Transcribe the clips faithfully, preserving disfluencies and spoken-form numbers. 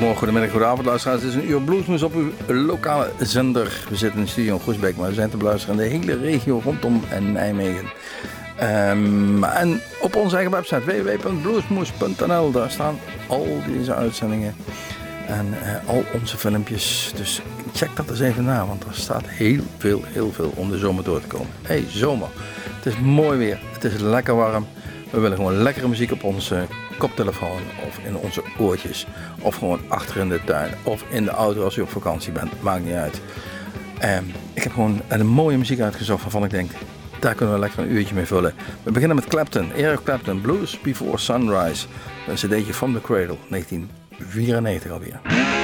Goedemorgen, goedemiddag, goedenavond luisteraars. Het is een uur bluesmoes op uw lokale zender. We zitten in de studio in Groesbeek, maar we zijn te beluisteren in de hele regio rondom Nijmegen. Um, en op onze eigen website w w w punt bluesmoes punt n l, daar staan al deze uitzendingen en uh, al onze filmpjes. Dus check dat eens even na, want er staat heel veel, heel veel om de zomer door te komen. Hey, zomer. Het is mooi weer, het is lekker warm. We willen gewoon lekkere muziek op onze koptelefoon of in onze oortjes. Of gewoon achter in de tuin of in de auto als u op vakantie bent. Maakt niet uit. Um, ik heb gewoon een mooie muziek uitgezocht waarvan ik denk, daar kunnen we lekker een uurtje mee vullen. We beginnen met Clapton, Eric Clapton, Blues Before Sunrise. Een cd'tje From the Cradle, negentien vierennegentig alweer.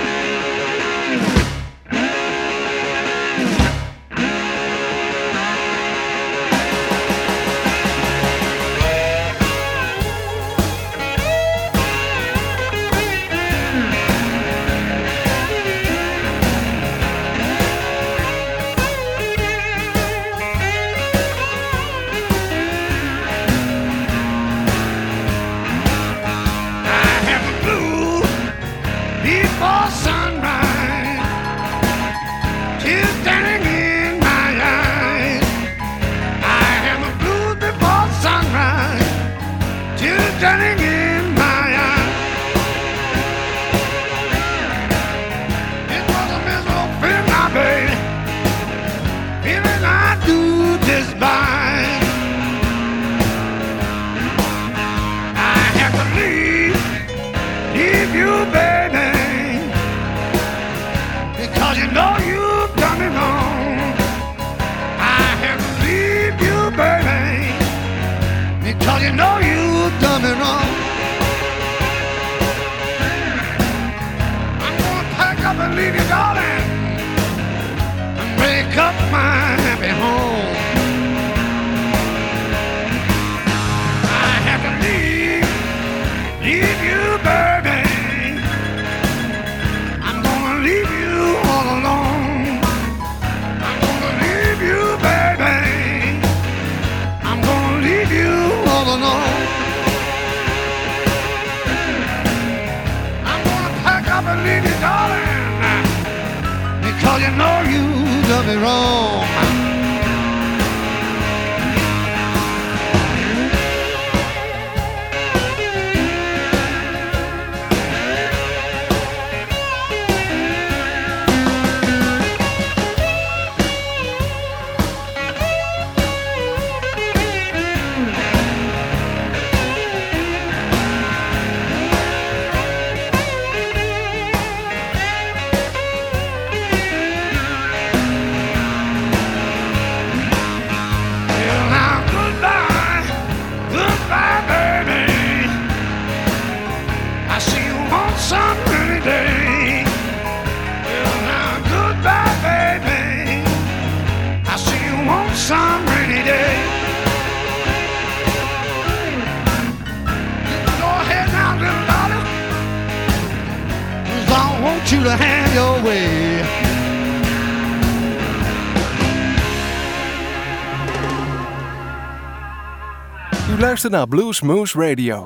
Luister naar Bluesmoose Radio.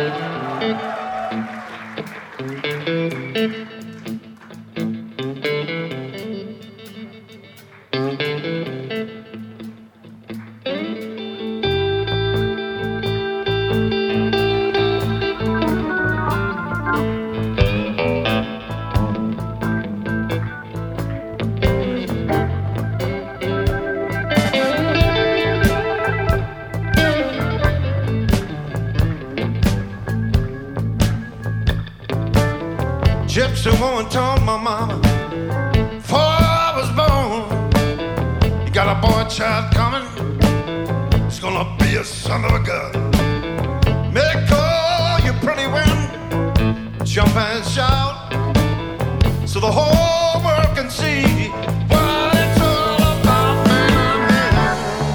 Gypsy woman told my mama before I was born, you got a boy child coming, it's gonna be a son of a gun. Make all you pretty women jump and shout, so the whole world can see what it's all about, man.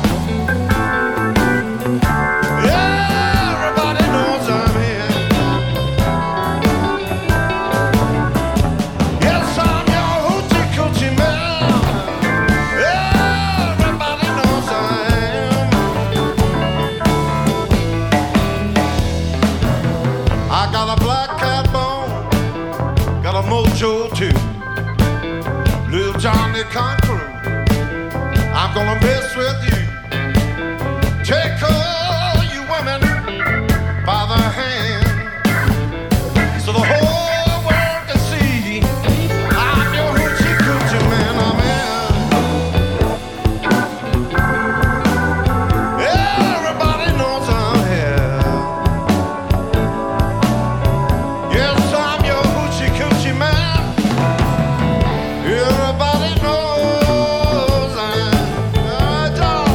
Everybody knows I'm here. con crew. I'm gonna mess with you. Take all you women by the hand, so the whole world can see I'm your hoochie coochie man. I'm in. Everybody knows I'm here. Yes, I'm your hoochie coochie man. Everybody knows I'm a dog.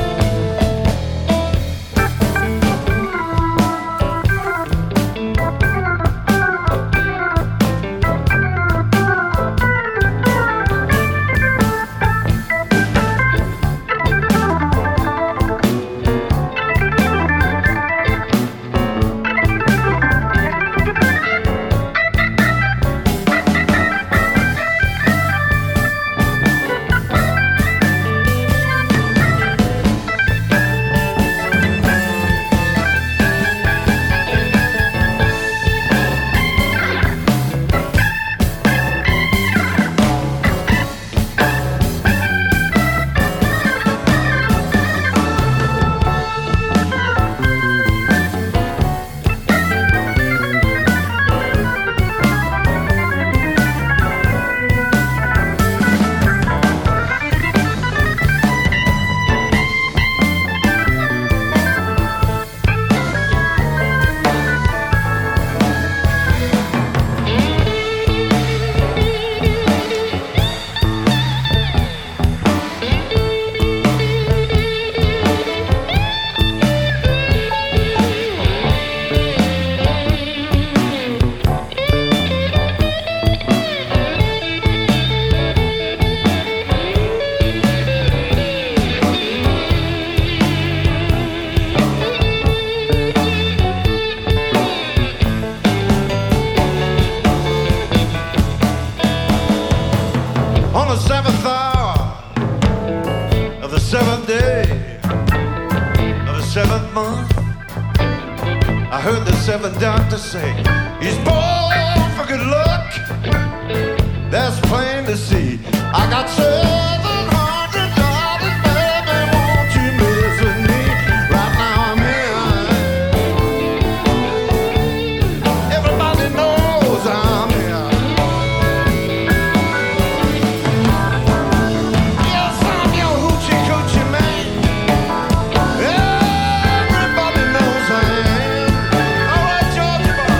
On the seventh hour of the seventh day of the seventh month, I heard the seventh doctor say he's born for good luck. That's plain to see. I got seven hundred dollars, baby. Won't you mess with me? Right now I'm here. Everybody knows I'm here. Yes, I'm your hoochie coochie man. Everybody knows I am. All right, Georgia boy.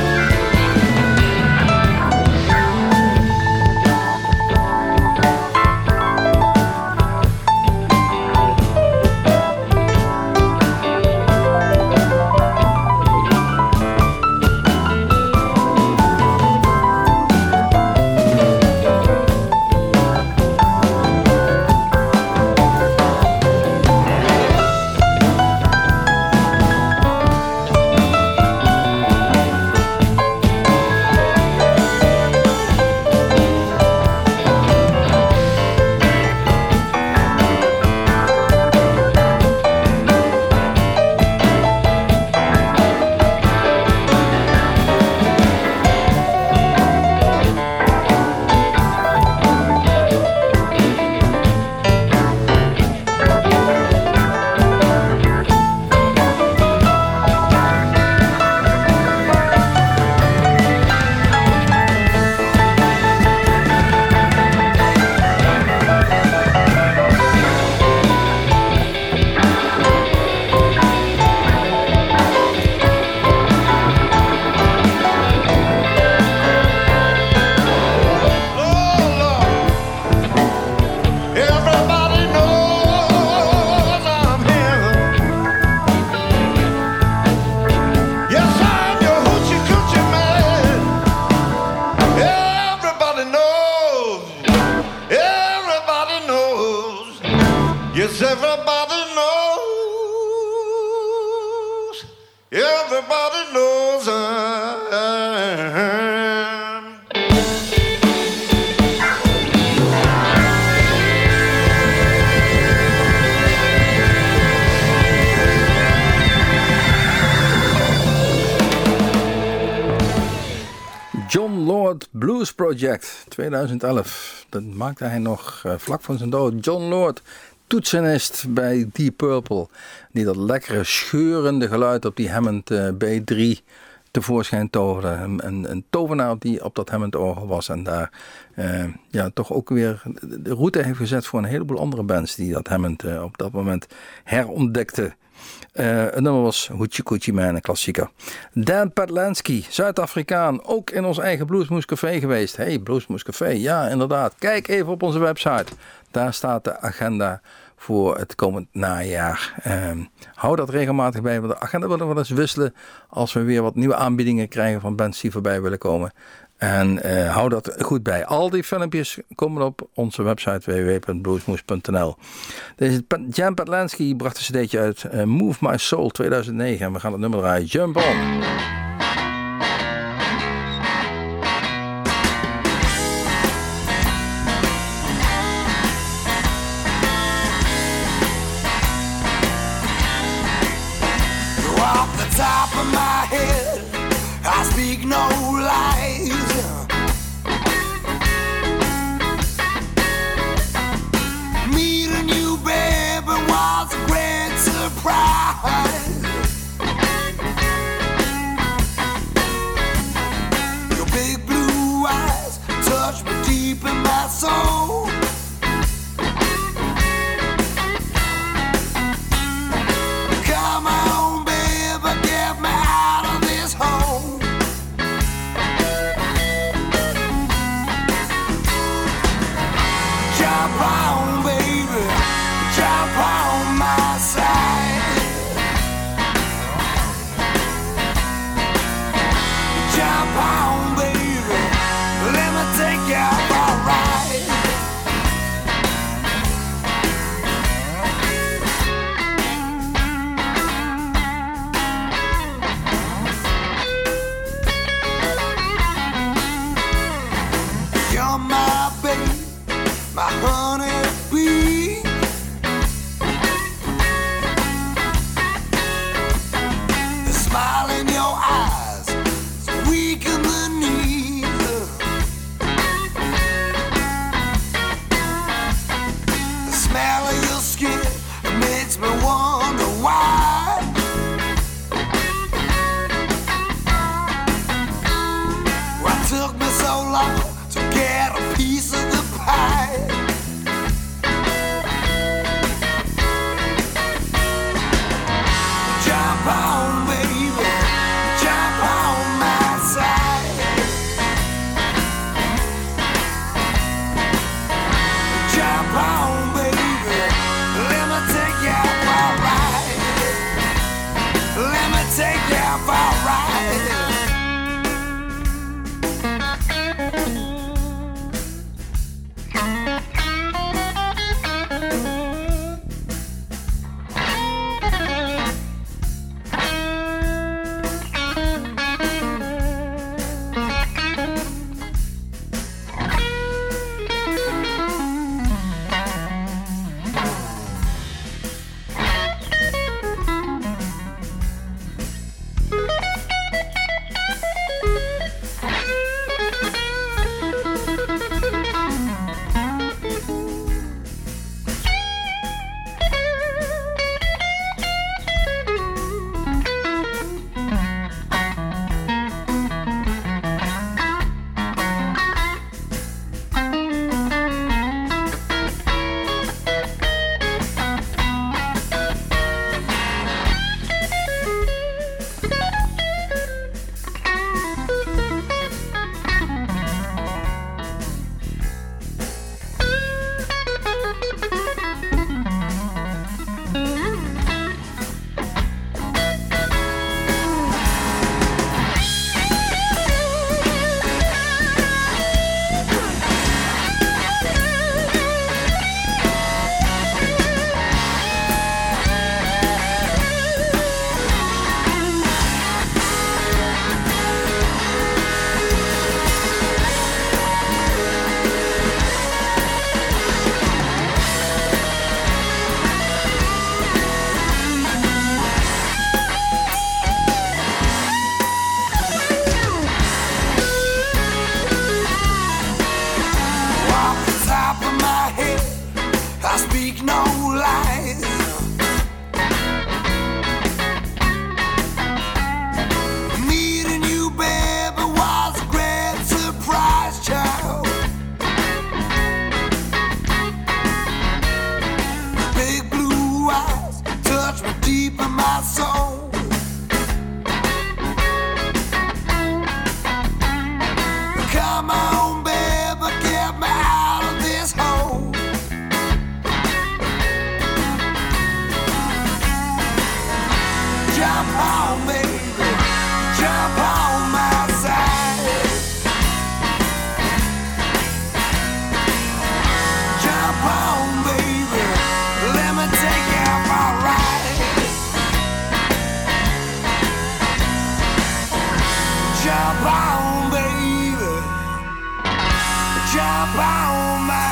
Blues Project twintig elf. Dat maakte hij nog uh, vlak voor zijn dood. John Lord, toetsenist bij Deep Purple, die dat lekkere scheurende geluid op die Hammond uh, B drie tevoorschijn toverde. Een, een, een tovenaar die op dat Hammond orgel was en daar uh, ja, toch ook weer de route heeft gezet voor een heleboel andere bands die dat Hammond uh, op dat moment herontdekten. Uh, het nummer was Hoochie Coochie Man, een klassieker. Dan Patlansky, Zuid-Afrikaan, ook in ons eigen Bluesmoose Café geweest. Hey, Bluesmoose Café, ja inderdaad. Kijk even op onze website. Daar staat de agenda voor het komend najaar. Uh, hou dat regelmatig bij, want de agenda willen we wel eens wisselen als we weer wat nieuwe aanbiedingen krijgen van bands die voorbij willen komen. En uh, hou dat goed bij. Al die filmpjes komen op onze website w w w punt bluesmoose punt n l. Deze Jan Patlansky bracht een cd'tje uit, uh, Move My Soul tweeduizend negen. En we gaan het nummer draaien, Jump On. Off the top of my head, I speak no lies. Meeting you, baby, was a great surprise. Your big blue eyes touch me deep in my soul. Come on, baby, get me out of this hole. me deep in my soul. Come on, baby, get me out of this hole. Jump on, baby, jump on my side. Jump on, baby, let me take you for a ride. Jump on, baby, jump on my.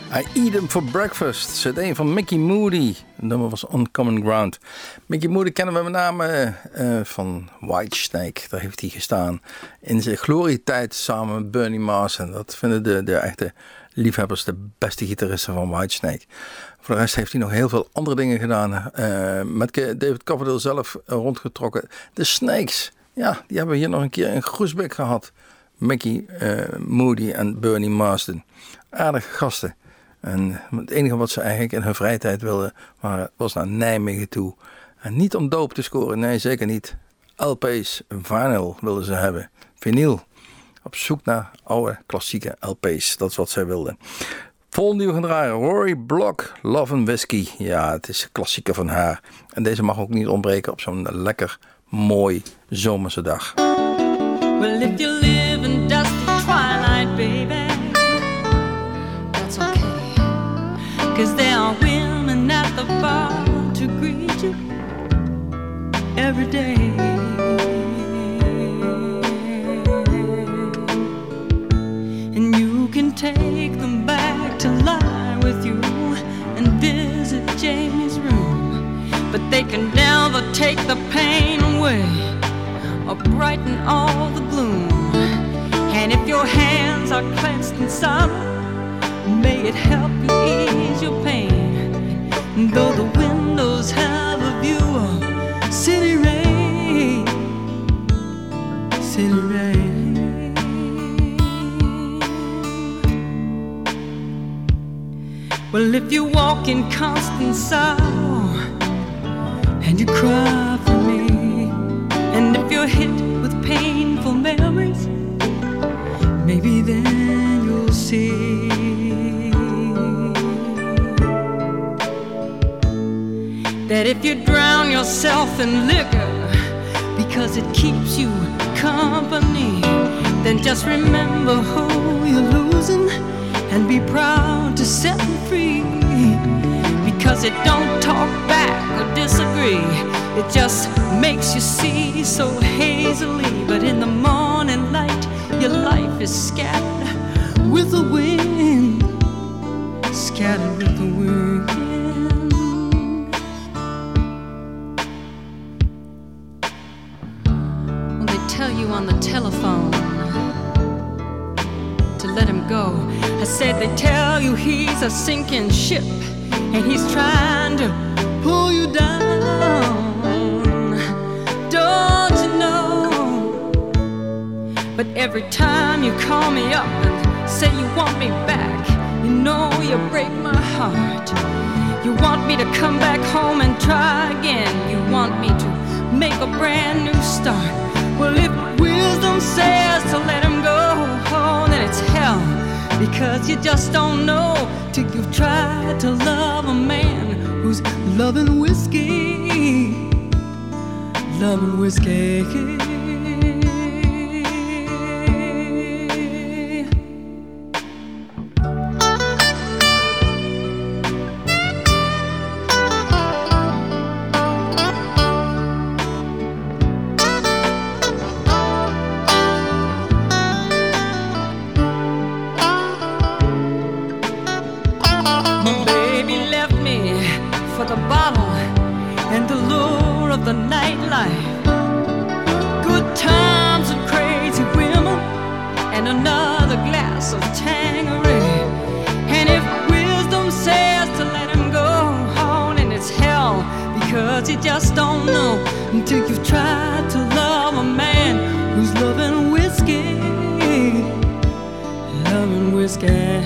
I Eat 'em for Breakfast, C D van Mickey Moody. Het nummer was Uncommon Ground. Mickey Moody kennen we met name uh, van Whitesnake. Daar heeft hij gestaan in zijn glorietijd samen met Bernie Marsden. Dat vinden de, de echte liefhebbers de beste gitaristen van Whitesnake. Voor de rest heeft hij nog heel veel andere dingen gedaan. Uh, met David Coverdale zelf rondgetrokken. De Snakes, ja, die hebben we hier nog een keer in Groesbeek gehad. Mickey uh, Moody en Bernie Marsden. Aardige gasten. En het enige wat ze eigenlijk in hun vrije tijd wilden, was naar Nijmegen toe. En niet om doop te scoren, nee zeker niet. L P's, vinyl wilden ze hebben. Vinyl. Op zoek naar oude klassieke L P's. Dat is wat zij wilden. Volgende die we gaan draaien. Rory Block, Love and Whiskey. Ja, het is een klassieker van haar. En deze mag ook niet ontbreken op zo'n lekker mooi zomerse dag. Well, if you live in dusty twilight, baby, that's okay. 'Cause there are women at the bar to greet you every day. And you can take them back to lie with you and visit Jamie's room. But they can never take the pain away or brighten all the gloom. And if your hands are clenched in sorrow, may it help you ease your pain. Though the windows have a view of city rain, city rain. Well, if you walk in constant sorrow and you cry for me, and if you're hit with painful memories, maybe then you'll see that if you drown yourself in liquor because it keeps you company, then just remember who you're losing and be proud to set them free. Because it don't talk back or disagree, it just makes you see so hazily. But in the morning light, your life is scattered with the wind, scattered with the wind. Well, they tell you on the telephone to let him go. I said they tell you he's a sinking ship and he's trying to pull you down. Don't you know? But every time you call me up and say you want me back, you know you break my heart. You want me to come back home and try again. You want me to make a brand new start. Well, if wisdom says to let him go, oh, then it's hell. Because you just don't know till you've tried to love a man who's loving whiskey, loving whiskey. You just don't know until you've tried to love a man who's loving whiskey, loving whiskey.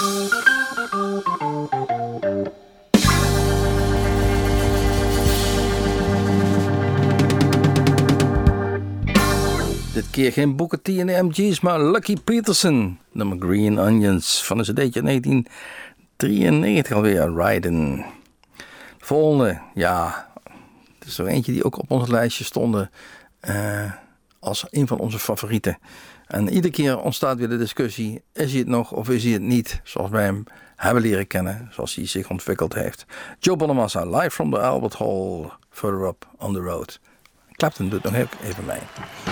Dit keer geen Booker T en de M G's, maar Lucky Peterson. Nummer Green Onions van een cd'tje negentien drieënnegentig alweer, Riding. Volgende, ja, het is er eentje die ook op ons lijstje stonden uh, als een van onze favorieten. En iedere keer ontstaat weer de discussie, is hij het nog of is hij het niet, zoals wij hem hebben leren kennen, zoals hij zich ontwikkeld heeft. Joe Bonamassa, live from the Albert Hall, further up on the road. Clapton doet nog even mee.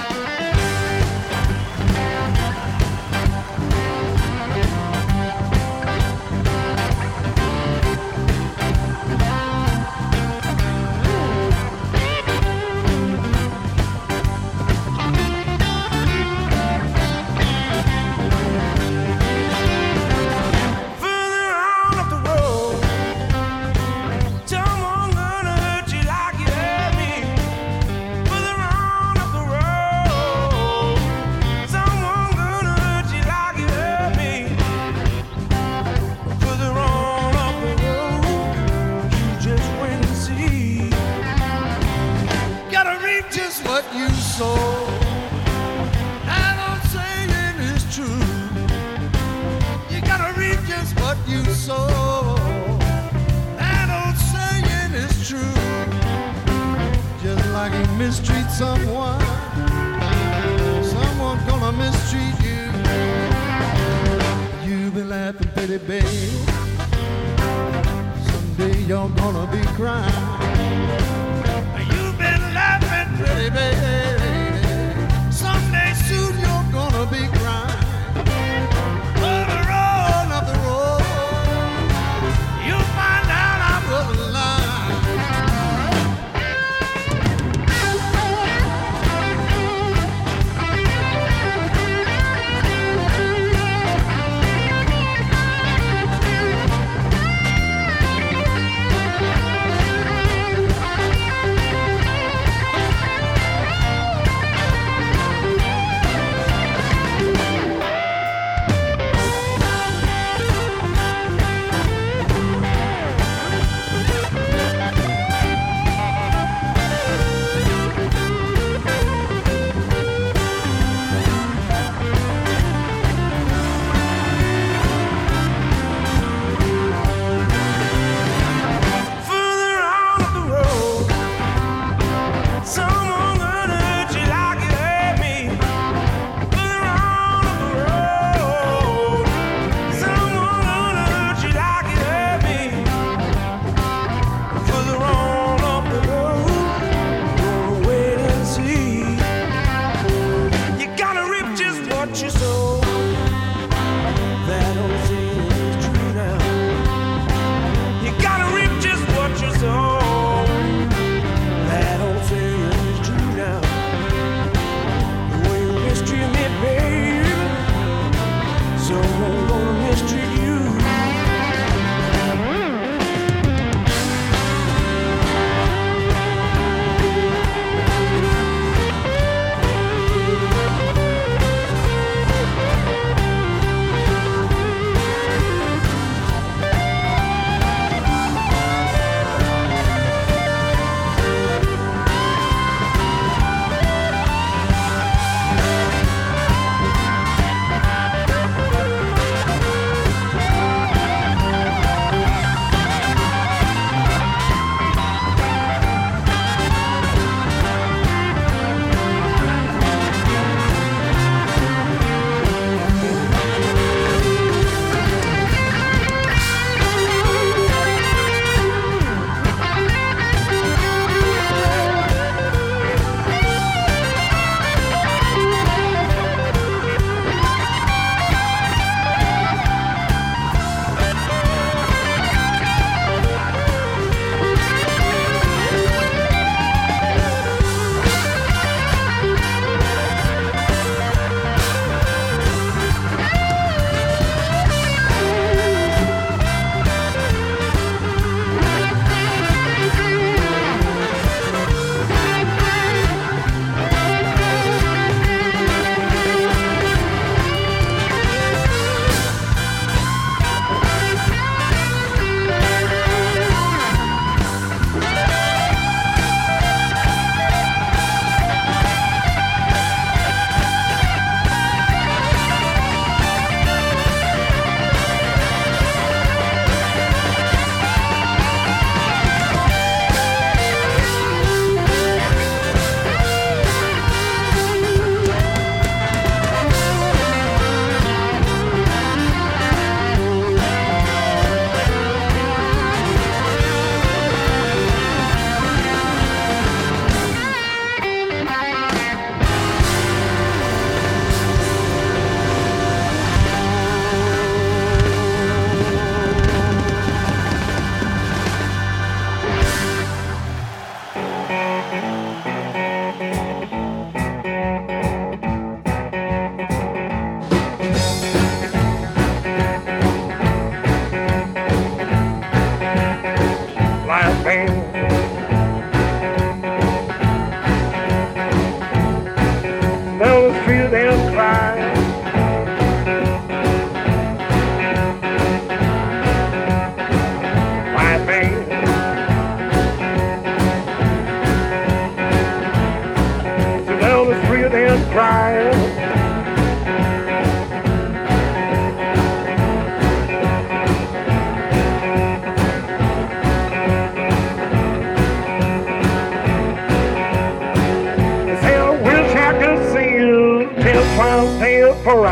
Mistreat someone, someone's gonna mistreat you. You've been laughing, pretty babe. Someday you're gonna be crying. You've been laughing, pretty babe. Someday soon you're gonna be crying. On the road, up the road, you'll find out I wasn't lying.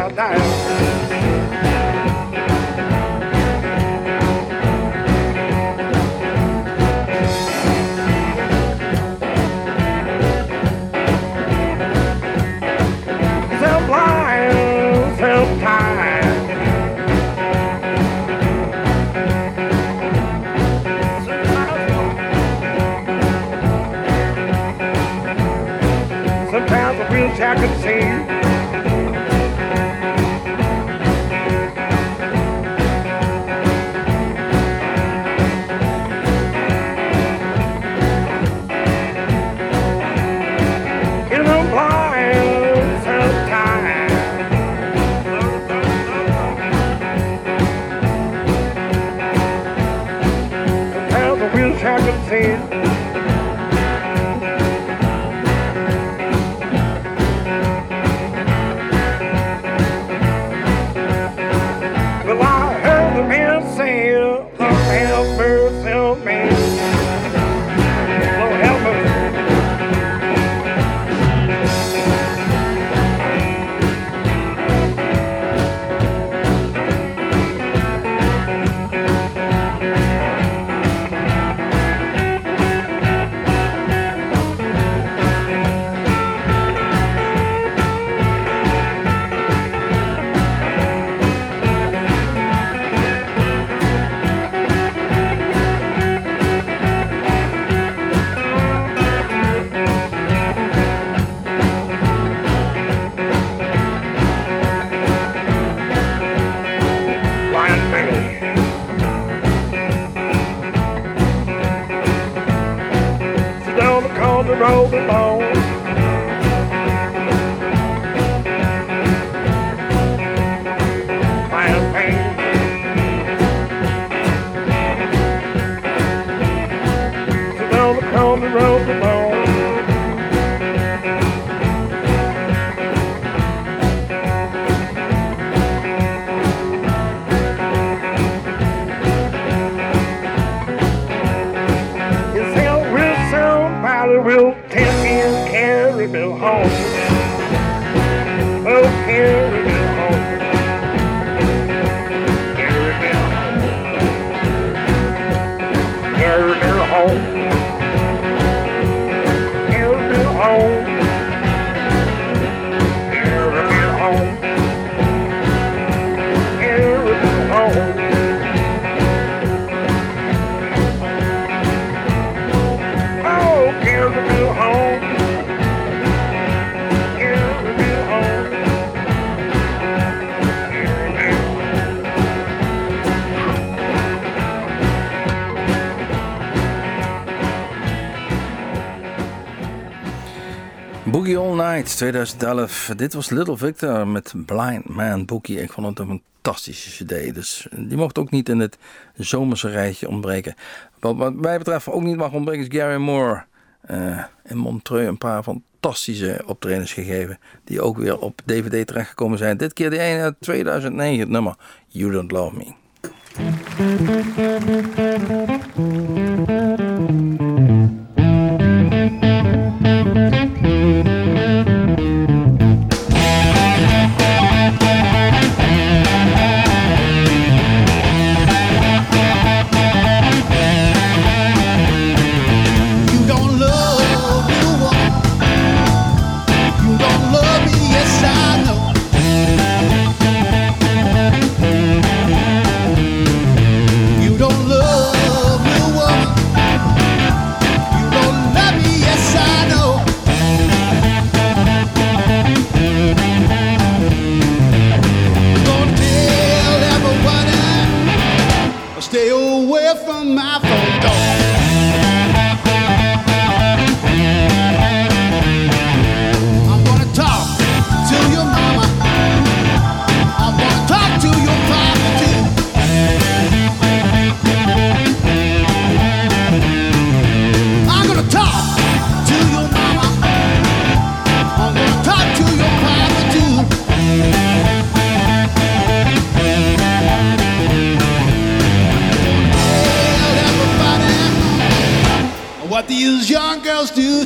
down, down. I could see. In the blind sometime. Sometimes I wish I could see. Roll along. Fine pain. Sit down the corner, roll along. Will take me and carry me home. Oh, carry me home. Carry me home. Carry me home. Carry me home. Carry me home. Carry me home. Boogie All Night twintig elf. Dit was Little Victor met Blind Man Boogie. Ik vond het een fantastische cd. Dus die mocht ook niet in het zomerse rijtje ontbreken. Wat, wat mij betreft ook niet mag ontbreken is Gary Moore. Uh, in Montreux een paar fantastische optredens gegeven. Die ook weer op D V D terechtgekomen zijn. Dit keer de ene uit tweeduizend negen. Het nummer You Don't Love Me. Stay away from my phone door. I'm gonna talk to your mama. I'm gonna talk to your papa too. I'm gonna talk to your mama. I'm gonna talk to your papa too. What these young girls do.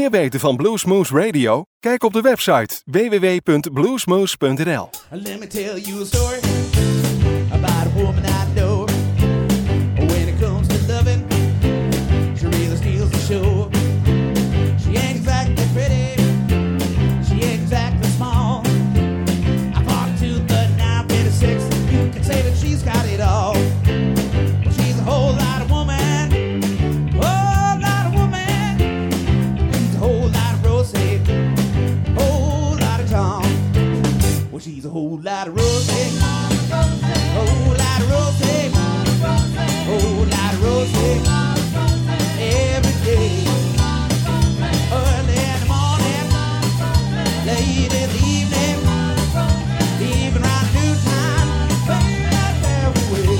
meer weten van Bluesmoose Radio? Kijk op de website w w w punt bluesmoose punt n l. Let me tell you a story about a woman I know. When it comes to loving, she really steals the show. She ain't exactly pretty, she ain't exactly small. I fought to the nine fifty-six, you can say that she's got it all. Well, she's a whole lot of woman, whole lot of woman. She's a whole lot of Rosie, whole lot of Tom. Well, she's a whole lot of Rosie, whole lot of Rosie, whole lot of Rosie, every day. Early in the morning, late in the evening, even around noontime, right there away.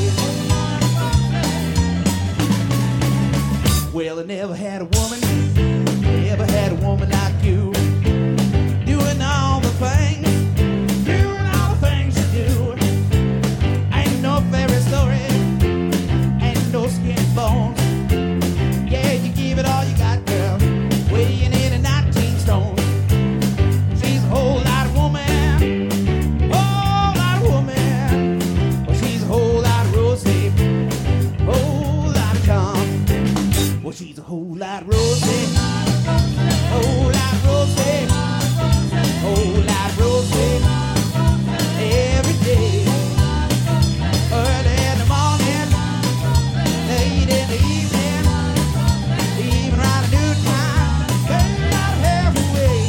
Well, I never had a woman, never had a woman like you, doing all the things, doing all the things you do. Ain't no fairy story, ain't no skin and bones. Yeah, you give it all you got, girl, weighing in at nineteen stone. She's a whole lot of woman, whole lot of woman. Well, she's a whole lot of Rosie, whole lot of Tom. Well, she's a whole lot of Rosie, whole lot of Rosie, whole lot of Rosie, every day. Early in the morning, late in the evening, even around the noontime, baby, not halfway.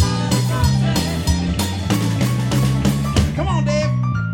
Come on, Dave.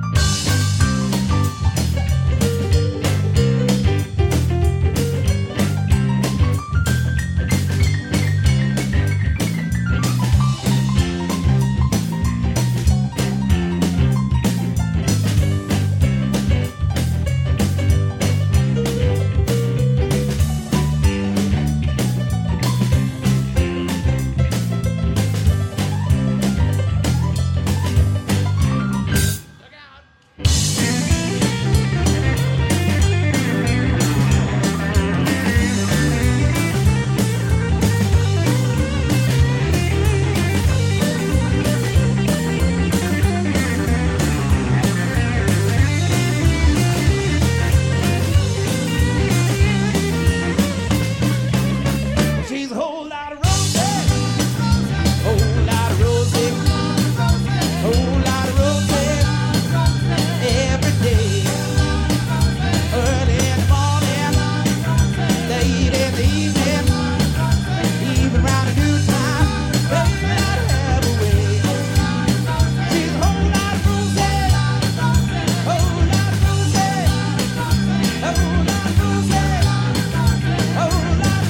She's a whole lot of Rosie, whole lot of Rosie, whole lot of Rosie, every day. Early in the morning, late in the evening, even around the noontime, baby, not halfway. She's a whole lot of Rosie, whole lot of Rosie, whole lot of Rosie, whole lot of Rosie.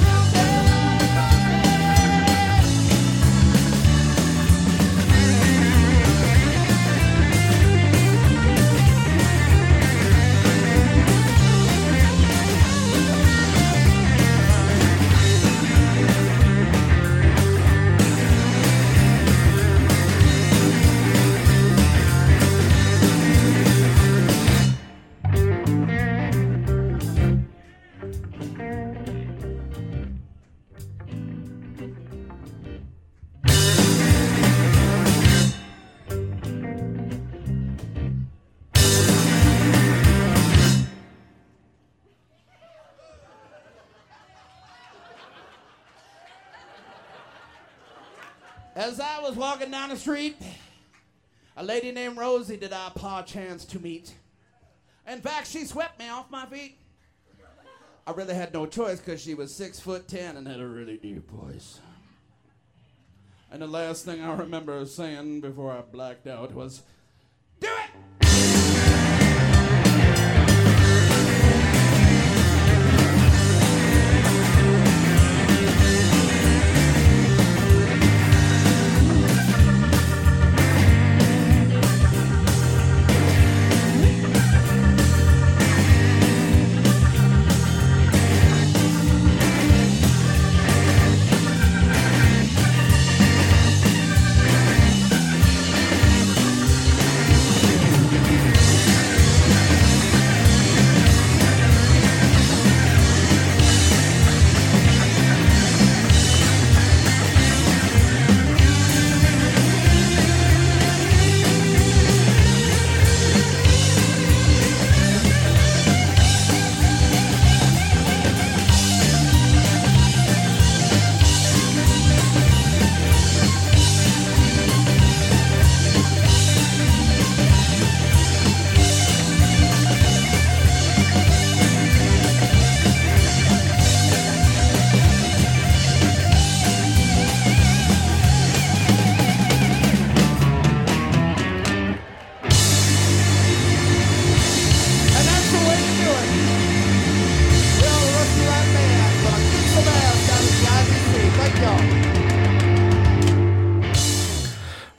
As I was walking down the street, a lady named Rosie did I paw chance to meet. In fact, she swept me off my feet. I really had no choice because she was six foot ten and had a really deep voice. And the last thing I remember saying before I blacked out was, "Do it!"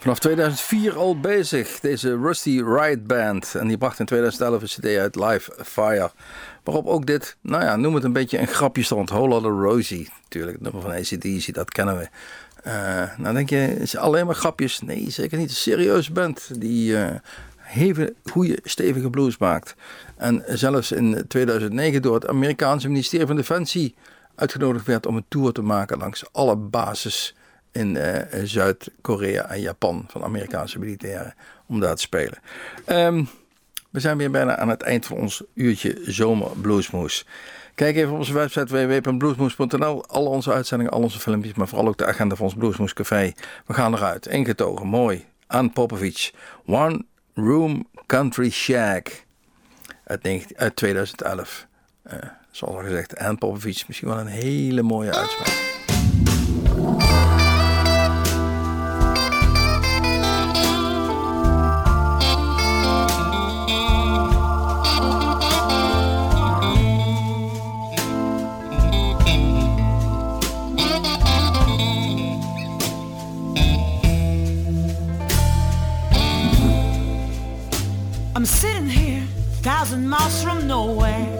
Vanaf tweeduizend vier al bezig, deze Rusty Riot Band. En die bracht in tweeduizend elf een cd uit, Live Fire. Waarop ook dit, nou ja, noem het een beetje een grapje stond. Whole Lotta Rosie, natuurlijk, het nummer van A C D C, dat kennen we. Uh, nou denk je, is alleen maar grapjes? Nee, zeker niet. Een serieuze band die uh, hele goede, stevige blues maakt. En zelfs in tweeduizend negen door het Amerikaanse ministerie van Defensie uitgenodigd werd om een tour te maken langs alle bases in uh, Zuid-Korea en Japan van Amerikaanse militairen om daar te spelen. Um, we zijn weer bijna aan het eind van ons uurtje Zomer Bluesmoes. Kijk even op onze website w w w punt bluesmoes punt n l. Alle onze uitzendingen, al onze filmpjes, maar vooral ook de agenda van ons Bluesmoes Café. We gaan eruit. Ingetogen, mooi. Ann Popovic. One Room Country Shack. Uit, negentien, uit tweeduizend elf. Uh, zoals al gezegd, Ann Popovic. Misschien wel een hele mooie uitspraak. I'm sitting here, thousand miles from nowhere.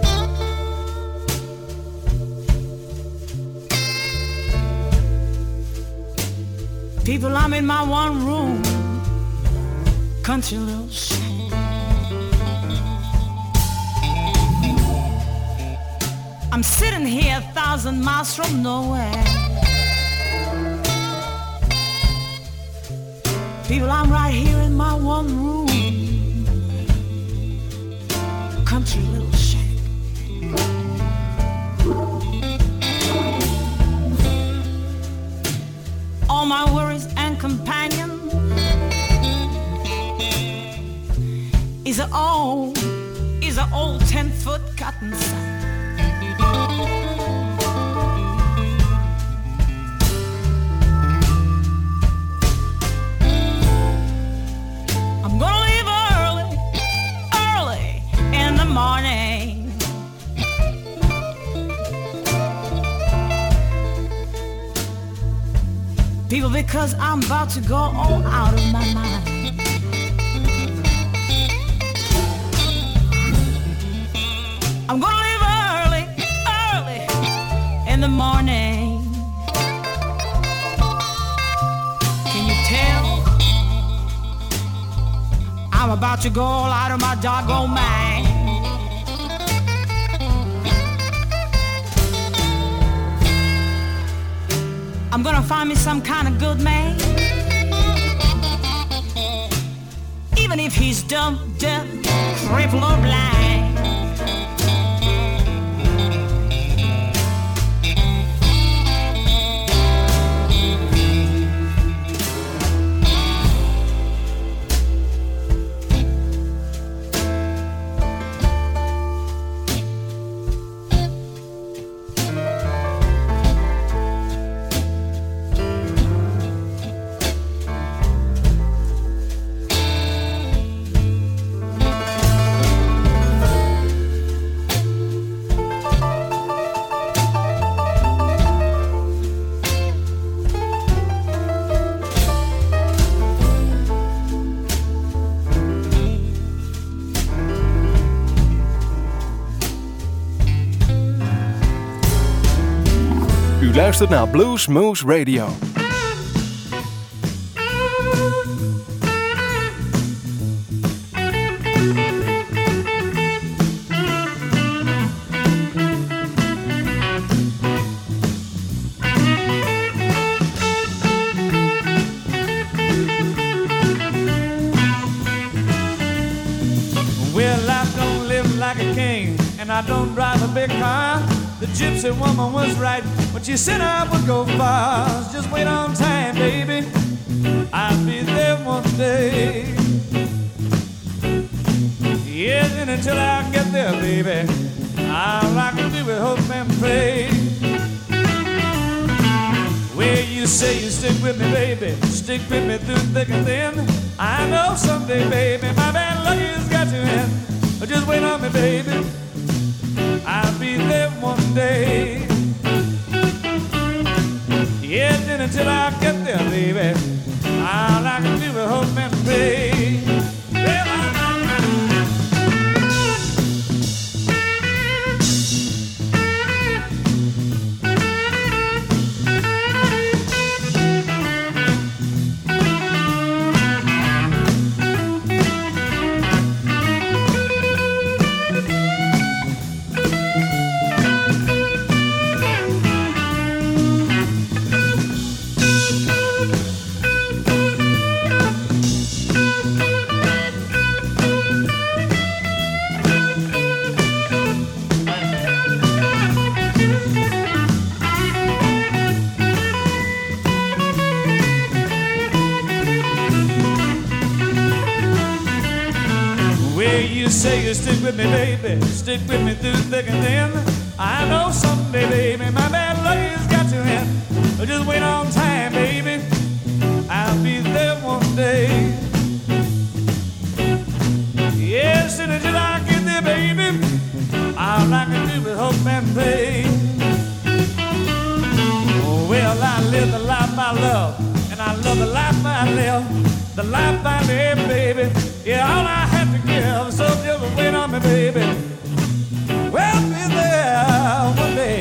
People, I'm in my one room, country little shack. I'm sitting here, a thousand miles from nowhere. People, I'm right here in my one room, country little shack. All my worries and companion is a old, is a old ten foot cotton sack. I'm gonna leave early, early in the morning. People, because I'm about to go all out of my mind. I'm gonna leave early, early in the morning. Can you tell? I'm about to go all out of my doggone mind. I'm gonna find me some kind of good man, even if he's dumb, deaf, crippled or blind. Luistert naar Blues Moose Radio. Well, I don't live like a king, and I don't drive a big car. The gypsy woman was right when she said I would go far. Just wait on time, baby, I'll be there one day. Yes, and until I get there, baby, all I can do is hope and pray. Well, you say you stick with me, baby, stick with me through thick and thin. I know someday, baby, my bad luck has got you in. But just wait on me, baby, I'll be there one day. Yeah, then until I get there, baby, all I can do is you say you stick with me, baby, stick with me through thick and thin. I know someday, baby, my bad luck has got to end. But just wait on time, baby, I'll be there one day. Yes, and until I get there, baby, all I can do is hope and pray. Oh, well, I live the life I love, and I love the life I live, the life I live, baby. Yeah, all I have to give, so just wait on me, baby. We'll be there one day.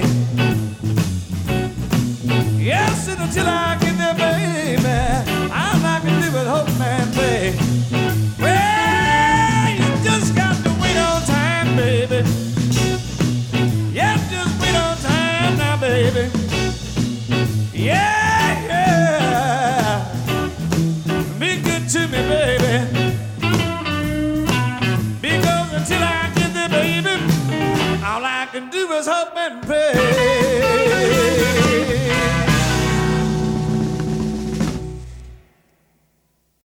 Yes, and until I get there, baby, all I can do is hope and pray. Well, you just got to wait on time, baby. Yeah, just wait on time now, baby. Yeah, yeah. Be good to me, baby. Because until I get there, baby, all I can do is hope and pray.